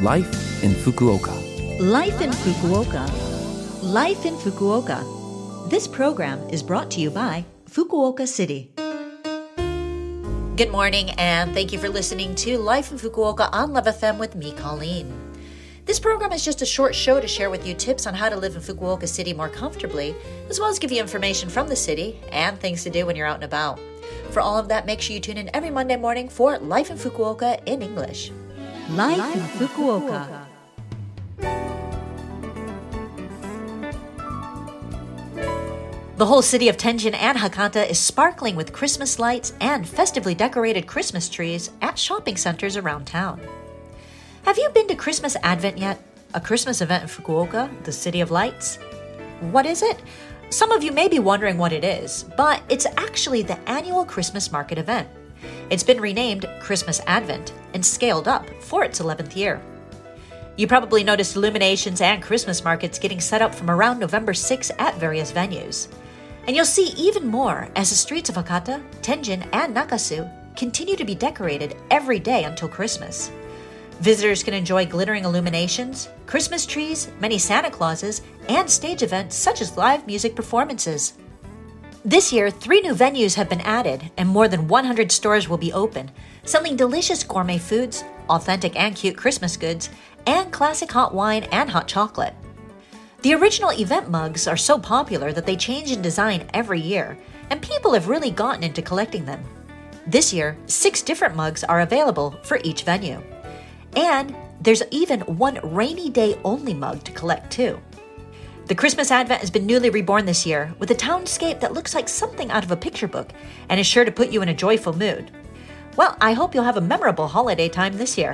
Life in Fukuoka. Life in Fukuoka. Life in Fukuoka. This program is brought to you by Fukuoka City. Good morning, and thank you for listening to Life in Fukuoka on Love FM with me, Colleen. This program is just a short show to share with you tips on how to live in Fukuoka City more comfortably, as well as give you information from the city and things to do when you're out and about. For all of that, make sure you tune in every Monday morning for Life in Fukuoka in English. Life in Fukuoka. The whole city of Tenjin and Hakata is sparkling with Christmas lights and festively decorated Christmas trees at shopping centers around town. Have you been to Christmas Advent yet? A Christmas event in Fukuoka, the City of Lights? What is it? Some of you may be wondering what it is, but it's actually the annual Christmas market event. It's been renamed Christmas Advent and scaled up for its 11th year. You probably noticed illuminations and Christmas markets getting set up from around November 6 at various venues. And you'll see even more as the streets of Hakata, Tenjin, and Nakasu continue to be decorated every day until Christmas. Visitors can enjoy glittering illuminations, Christmas trees, many Santa Clauses, and stage events such as live music performances. This year, 3 new venues have been added, and more than 100 stores will be open, selling delicious gourmet foods, authentic and cute Christmas goods, and classic hot wine and hot chocolate. The original event mugs are so popular that they change in design every year, and people have really gotten into collecting them. This year, 6 different mugs are available for each venue. And there's even one rainy day only mug to collect too. The Christmas Advent has been newly reborn this year with a townscape that looks like something out of a picture book and is sure to put you in a joyful mood. Well, I hope you'll have a memorable holiday time this year.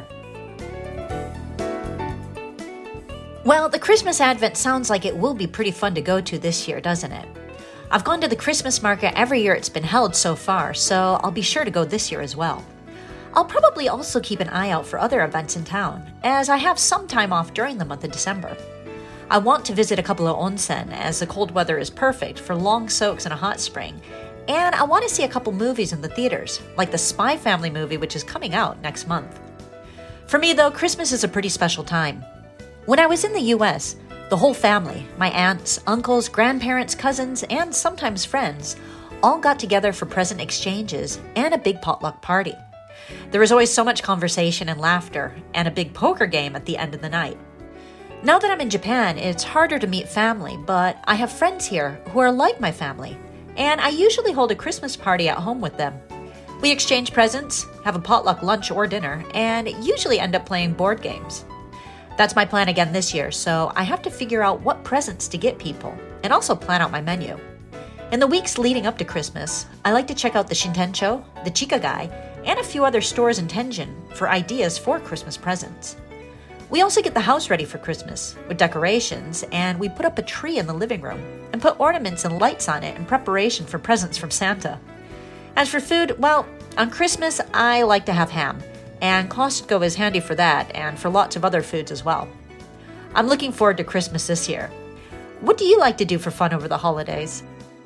Well, the Christmas Advent sounds like it will be pretty fun to go to this year, doesn't it? I've gone to the Christmas market every year it's been held so far, so I'll be sure to go this year as well. I'll probably also keep an eye out for other events in town, as I have some time off during the month of December. I want to visit a couple of onsen, as the cold weather is perfect for long soaks in a hot spring, and I want to see a couple movies in the theaters, like the Spy Family movie, which is coming out next month. For me, though, Christmas is a pretty special time. When I was in the US, the whole family, my aunts, uncles, grandparents, cousins, and sometimes friends, all got together for present exchanges and a big potluck party. There was always so much conversation and laughter, and a big poker game at the end of the night. Now that I'm in Japan, it's harder to meet family, but I have friends here who are like my family, and I usually hold a Christmas party at home with them. We exchange presents, have a potluck lunch or dinner, and usually end up playing board games. That's my plan again this year, so I have to figure out what presents to get people, and also plan out my menu. In the weeks leading up to Christmas, I like to check out the Shintencho, the Chikagai, and a few other stores in Tenjin for ideas for Christmas presents. We also get the house ready for Christmas with decorations, and we put up a tree in the living room and put ornaments and lights on it in preparation for presents from Santa. As for food, well, on Christmas I like to have ham, and Costco is handy for that and for lots of other foods as well. I'm looking forward to Christmas this year. What do you like to do for fun over the holidays?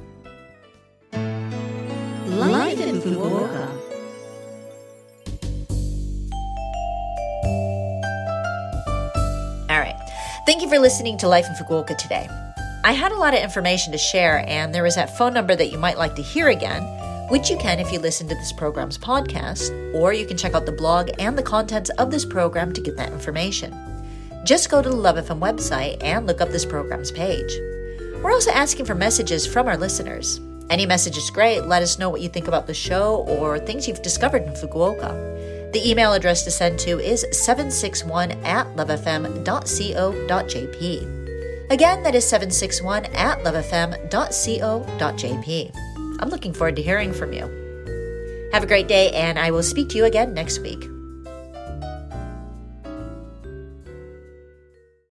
Life in Fukuoka. All right. Thank you for listening to Life in Fukuoka today. I had a lot of information to share, and there is that phone number that you might like to hear again, which you can if you listen to this program's podcast, or you can check out the blog and the contents of this program to get that information. Just go to the Love FM website and look up this program's page. We're also asking for messages from our listeners. Any message is great. Let us know what you think about the show or things you've discovered in Fukuoka. The email address to send to is 761@lovefm.co.jp. Again, that is 761@lovefm.co.jp. I'm looking forward to hearing from you. Have a great day, and I will speak to you again next week.